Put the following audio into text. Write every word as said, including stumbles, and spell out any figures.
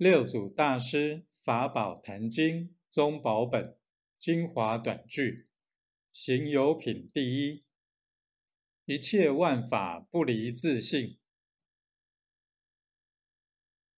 六祖大师法宝坛经宗宝本精华短句，行有品第一。一切万法不离自性，